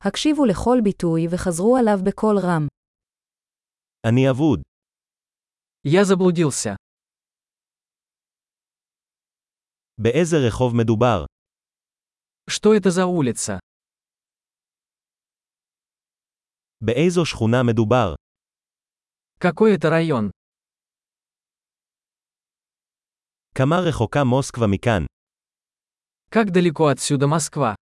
הקשיבו לכל ביטוי וחזרו עליו בקול רם. אני אבוד. Я заблудился. באיזה רחוב מדובר? Что это за улица? באיזו שכונה מדובר? Какой это район? כמה רחוקה מוסקבה מכאן? Как далеко отсюда Москва?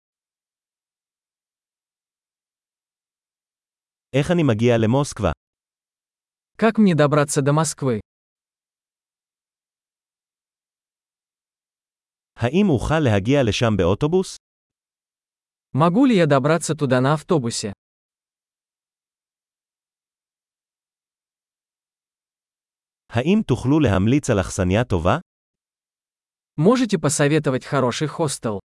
איך אני מגיע למוסקבה? Как мне добраться до Москвы? האם אוכל להגיע לשם באוטובוס? Могу ли я добраться туда на автобусе? האם תוכלו להמליץ על אכסניה טובה? Можете посоветовать хороший хостел?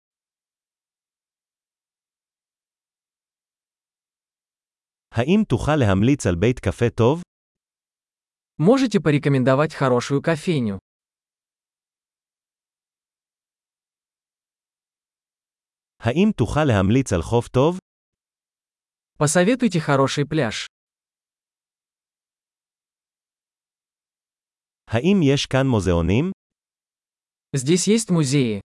האם תוכל להמליץ על בית קפה טוב? Можете порекомендовать хорошую кофейню? האם תוכל להמליץ על חוף טוב? Посоветуйте хороший пляж. האם יש כאן מוזיאונים? Здесь есть музеи.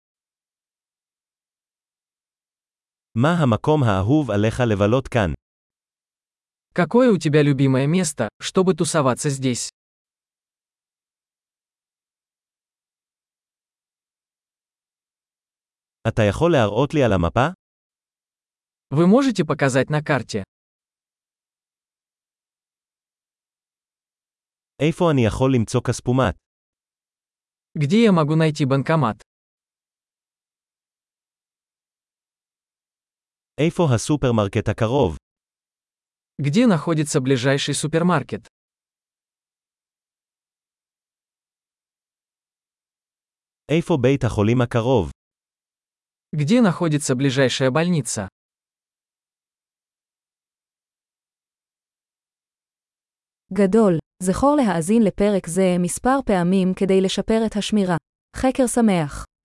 מה המקום האהוב עליך לבלות כאן? Какое у тебя любимое место, чтобы тусоваться здесь? אתה יכול להראות לי על המפה? Вы можете показать на карте? איפה אני יכול למצוא כספומט? Где я могу найти банкомат? איפה הסופרמרקט הקרוב? Где находится ближайший супермаркет? איפה בית החולים הקרוב? Где находится ближайшая больница? גדול, זכור להאזין לפרק זה מספר פעמים כדי לשפר את השמירה. חקר שמח.